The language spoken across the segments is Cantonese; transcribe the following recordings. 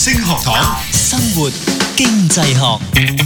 星學堂，生活經濟學。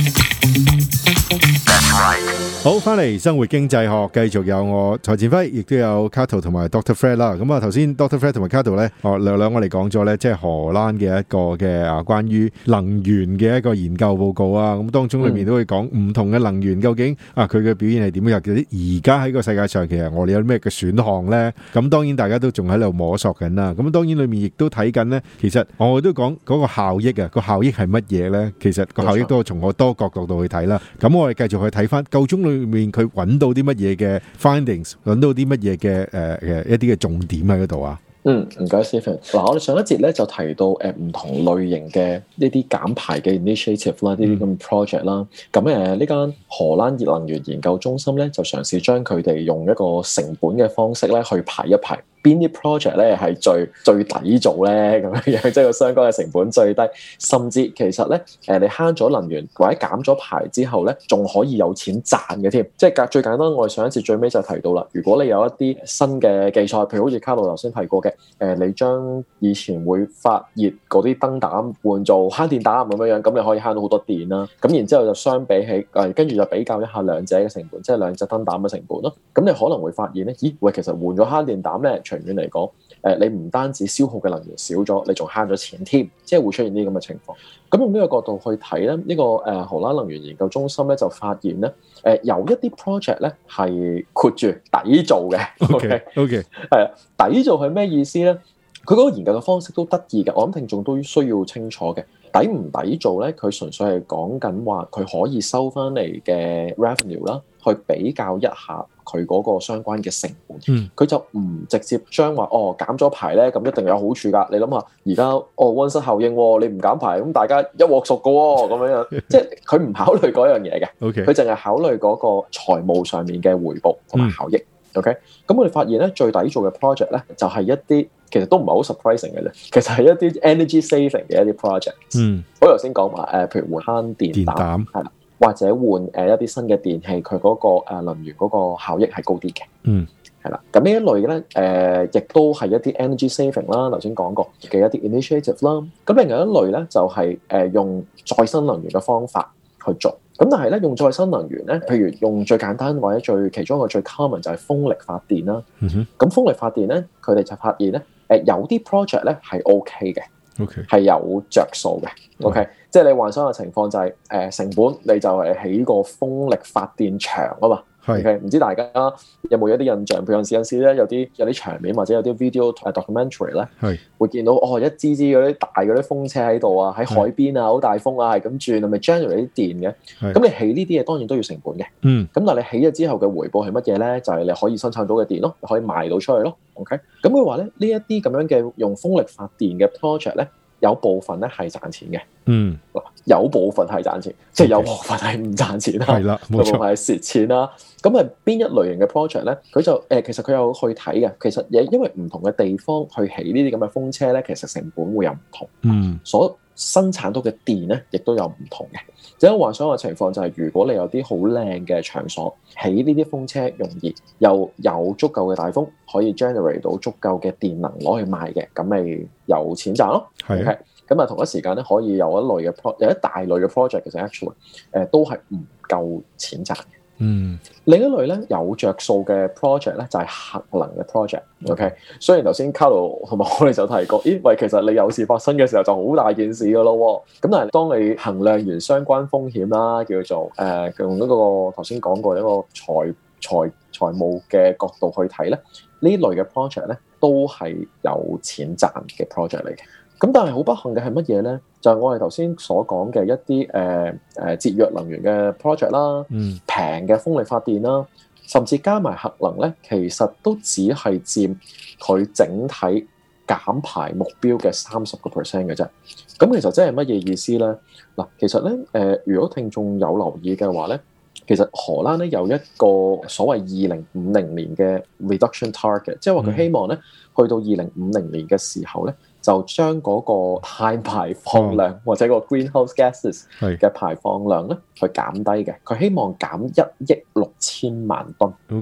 好，翻嚟生活經濟學，繼續有我蔡展輝，亦都有 Cato 同埋 Dr. Fred 啦。咁啊，頭先 Dr. Fred 同埋 Cato 咧，兩我哋講咗咧，即係荷蘭嘅一個嘅關於能源嘅一個研究報告啊。咁當中裏面都會講唔同嘅能源究竟佢嘅表現係點樣，而家喺個世界上其實我哋有咩嘅選項咧？咁當然大家都仲喺度摸索緊啦。咁當然裏面亦都睇緊咧，其實我都講嗰個效益啊，個效益係乜嘢咧？其實個效益都從我多角度去睇啦。咁我哋繼續去睇翻夠鐘裏面佢揾到啲乜嘢嘅 findings， 揾到啲乜嘢嘅一啲嘅重點喺嗰度啊？ 唔該 Stephen。嗱，我哋上一節咧就提到唔同類型嘅呢啲減排嘅 initiative 啦，呢啲咁 project 啦。咁呢間荷蘭熱能源研究中心咧就嘗試將佢哋用一個成本嘅方式咧去排一排。邊啲 project 咧係最抵做咧咁樣，即係個相關嘅成本最低，甚至其實咧你慳咗能源或者減咗排之後咧，仲可以有錢賺嘅添。即係最簡單，我哋上一次最尾就提到啦。如果你有一啲新嘅技術，譬如好似卡路頭先提過嘅，你將以前會發熱嗰啲燈膽換做慳電膽咁樣，咁你可以慳到好多電啦。咁然之後就相比起跟住就比較一下兩者嘅成本，即係兩隻燈膽嘅成本咯。咁你可能會發現咧，咦喂，其實換咗慳電膽咧，長遠嚟講，你唔單止消耗嘅能源少咗，你仲慳咗錢添，即係會出現呢啲咁嘅情況。咁用呢個角度去睇咧，呢個荷蘭能源研究中心咧就發現咧，有一啲 project 咧係括住抵做嘅。OK，係啊，抵做係咩意思咧？佢嗰個研究嘅方式都得意嘅，我諗聽眾都需要清楚嘅。抵唔抵做咧？佢純粹係講緊話佢可以收翻嚟嘅 revenue 啦，去比較一下佢嗰個相關嘅成本。佢就唔直接將話減咗排咧，咁一定有好處㗎。你諗下，而家溫室效應，你唔減排，咁大家一鑊熟㗎喎，咁樣即係佢唔考慮嗰樣嘢嘅。佢淨係考慮嗰個財務上面嘅回報同埋效益。OK，咁我哋發現咧，最抵做嘅 project 咧，就係一啲其實都唔係好 surprising 嘅啫。其實係一啲 energy saving 嘅一啲 project。我頭先講話譬如換慳電膽係啦，或者換一啲新嘅電器，佢嗰個能源嗰個效益係高啲嘅。係啦，咁呢一類咧亦都係一啲 energy saving 啦，頭先講過嘅一啲 initiative 啦。咁另外一類咧就係用再生能源嘅方法去做。咁但係咧，用再生能源咧，譬如用最簡單或者其中一個最 common 就係風力發電啦。咁風力發電咧，佢哋就發現咧，有啲 project 咧係 OK 嘅，係有着數嘅。OK，即係你幻想嘅情況就係成本你就係起個風力發電場啊嘛。OK，唔知大家有冇一啲印象？譬如有陣時咧，有啲場面或者有啲 video documentary 咧，會見到一支支嗰啲大嗰啲風車喺度啊，喺海邊啊，好大風啊，係咁轉，係咪 generate 啲電嘅？咁你起呢啲嘢當然都要成本嘅。咁但係你起咗之後嘅回報係乜嘢咧？就係你可以生產到嘅電咯，你可以賣到出去咯。OK，咁佢話咧，呢一啲咁樣嘅用風力發電嘅 project 咧，有部分咧係賺錢嘅。有部分係賺錢，即係有部分係唔賺錢啦。係啦，冇錯，有部分係蝕錢啦。咁係邊一類型嘅 project 咧？佢就其實佢有去睇嘅。其實因為唔同嘅地方去起呢啲咁嘅風車咧，其實成本會有唔同。所生產到嘅電咧，亦都有唔同嘅。即係幻想嘅情況就係，如果你有啲好靚嘅場所，起呢啲風車容易，又有足夠嘅大風，可以 generate 到足夠嘅電能攞去賣嘅，咁咪有錢賺咯。係。咁啊，同一時間咧，可以有一大類嘅 project，其實 actually 都係唔夠錢賺嘅。另一類咧有着數嘅 project 咧就係核能嘅 project。OK，雖然頭先卡路同埋我哋就提過，喂，其實你有事發生嘅時候就好大件事噶咯。咁但係當你衡量完相關風險啦，叫做用一個頭先講過一個財務嘅角度去睇咧，呢類嘅 project 咧都係有錢賺嘅 project 嚟嘅。咁但係好不幸嘅係乜嘢咧？就係我哋頭先所講嘅一啲節約能源嘅 project 啦，平嘅風力發電啦，甚至加埋核能咧，其實都只係佔佢整體減排目標嘅30% 嘅啫。咁其實真係乜嘢意思咧？嗱，其實咧如果聽眾有留意嘅話咧，其實荷蘭咧有一個所謂2050年嘅 reduction target， 即係話佢希望咧去到2050年嘅時候咧，就將嗰個碳排放量或者個 greenhouse gases 嘅排放量咧去減低嘅。佢希望減1億6千萬噸。OK，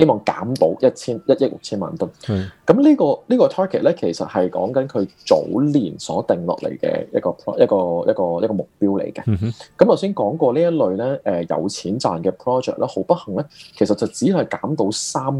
希望減到1億6千萬噸。咁呢個 target 咧，其實係講緊佢早年所定落嚟嘅一個目標嚟嘅。咁頭先講過呢一類咧，有錢賺嘅 project 咧，好不幸咧，其實就只係減到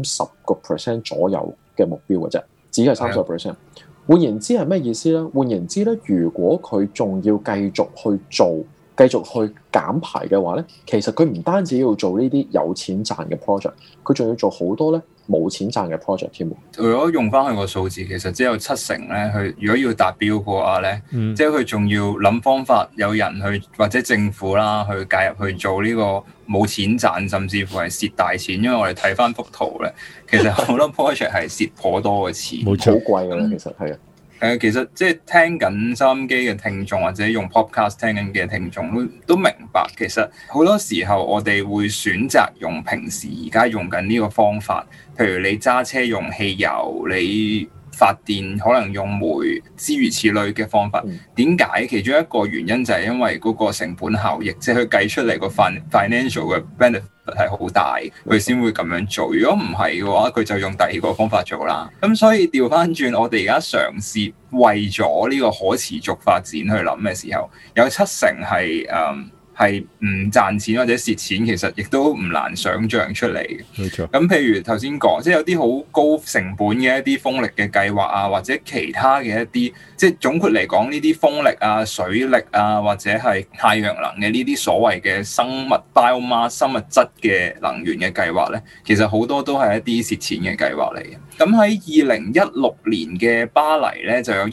30% 左右嘅目標嘅啫，只係30%。換言之係咩意思咧？換言之咧，如果佢仲要繼續去做、繼續去減排嘅話咧，其實佢唔單止要做呢啲有錢賺嘅 project， 佢仲要做好多咧冇錢賺嘅 project 添。 如果用翻佢個數字，其實只有70%咧，佢如果要達標嘅話咧，即係佢仲要諗方法，有人去或者政府啦去介入去做呢個冇錢賺，甚至乎係蝕大錢。因為我哋睇翻幅圖咧，其實好多 project 係蝕頗多嘅錢， 冇錯，好貴㗎啦，其實係啊。 其實即係聽緊收音機嘅聽眾或者用 podcast 聽緊嘅聽眾都明白，其實好多時候我哋會選擇用平時而家用緊呢個方法，譬如你揸車用汽油，你發電可能用煤，諸如此類嘅方法。點解？其中一個原因就係因為嗰個成本效益，即係佢計出嚟個 financial 嘅 benefit 係好大，佢先會咁樣做。如果唔係嘅話，佢就用第二個方法做啦。咁所以調翻轉，我哋而家嘗試為咗呢個可持續發展去諗嘅時候，有70%係唔賺錢或者蝕錢，其實亦都唔難想像出嚟嘅。 冇錯。 咁譬如頭先講，即係有啲好高成本嘅一啲風力嘅計劃啊，或者其他嘅一啲，即係總括嚟講呢啲風力啊、水力啊，或者係太陽能嘅呢啲所謂嘅生物 biomass 生物質嘅能源嘅計劃咧，其實好多都係一啲蝕錢嘅計劃嚟嘅。咁喺2016年嘅巴黎咧，就有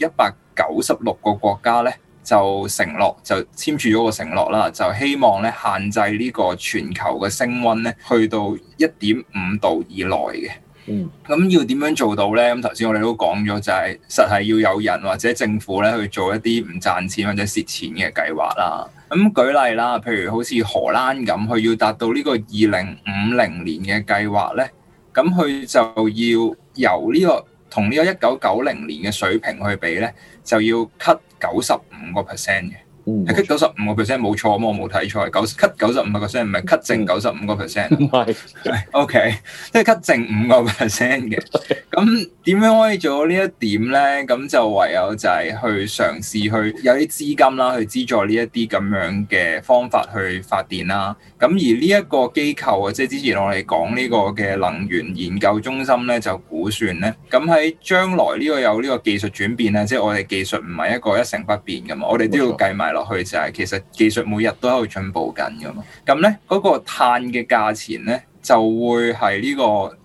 196個國家咧，就承諾就簽署咗個承諾啦，就希望咧限制呢個全球嘅升溫咧去到1.5度以內嘅。咁要點樣做到咧？咁頭先我哋都講咗，就係實係要有人或者政府咧去做一啲唔賺錢或者蝕錢嘅計劃啦。咁舉例啦，譬如好似荷蘭咁，佢要達到呢個2050年嘅計劃咧，咁佢就要由呢個同呢個1990年嘅水平去比咧，就要 cut 95% 嘅。係 cut 95% 冇錯，咁我冇睇錯，係 cut 95%，唔係 cut 剩95%。唔係，OK， 即係 cut 剩5% 嘅。咁點樣可以做到呢一點咧？咁就唯有就係去嘗試去有啲資金啦，去資助呢一啲咁樣嘅方法去發電啦。咁而呢一個機構啊，即係之前我哋講呢個嘅能源研究中心咧，就估算咧，咁喺將來呢個有呢個技術轉變咧，即係我哋技術唔係一個一成不變噶嘛，我哋都要計埋落去，就係其實技術每日都喺度進步緊噶嘛。咁咧嗰個碳嘅價錢咧就會係呢個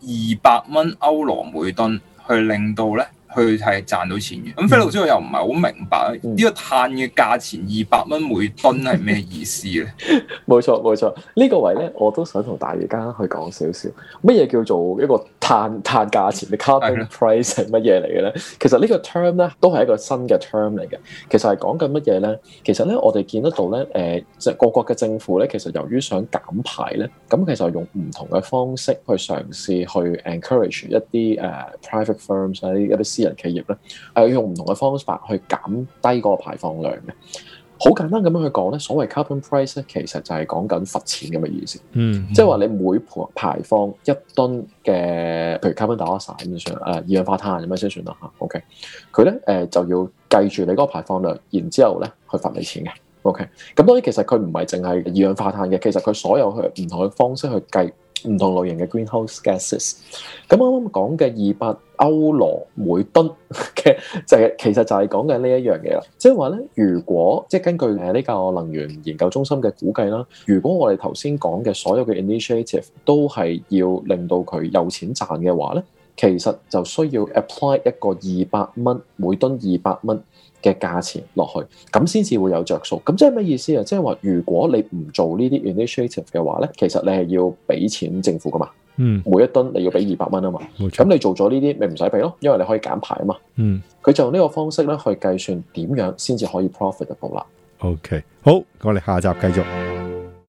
200歐羅每噸，去令到咧佢係賺到錢嘅。咁菲老師我又唔係好明白呢個碳嘅價錢200每噸係咩意思咧？ 冇錯冇錯，呢個位咧我都想同大家去講少少，乜嘢叫做一個碳價錢嘅 carbon price 係乜嘢嚟嘅咧？其實呢個 term 咧都係一個新嘅 term 嚟嘅。其實係講緊乜嘢咧？其實咧我哋見得到咧，即係各國嘅政府咧，其實由於想減排咧，咁其實用唔同嘅方式去嘗試去 encourage 一啲private firms 一啲私人企業咧，用唔同嘅方法去減低嗰個排放量嘅。好簡單咁樣去講咧，所謂 carbon price 咧，其實就係講緊罰錢咁嘅意思。即係話你每排放1噸嘅，譬如 carbon dioxide 咁算，二氧化碳咁樣先算啦嚇。OK， 佢咧就要計住你嗰個排放量，然之後咧去罰你錢嘅。OK， 咁當然其實佢唔係淨係二氧化碳嘅，其實佢所有去唔同嘅方式去計唔同類型嘅 greenhouse gases。咁啱啱講嘅200歐羅每噸嘅其實就係講緊呢一樣嘢啦。即係話咧，如果即係根據呢個能源研究中心嘅估計啦，如果我哋頭先講嘅所有嘅 initiative 都係要令到佢有錢賺嘅話咧，其實就需要 apply 一個200每噸200嘅價錢落去，咁先至會有着數。咁即係咩意思啊？即係話如果你唔做呢啲 initiative 嘅話咧，其實你係要俾錢政府噶嘛。每一噸你要俾200蚊啊嘛。咁你做咗呢啲，咪唔使俾咯，因為你可以減排啊嘛。佢就用呢個方式咧去計算點樣先至可以 profitable 啦。 OK， 好，我哋下集繼續。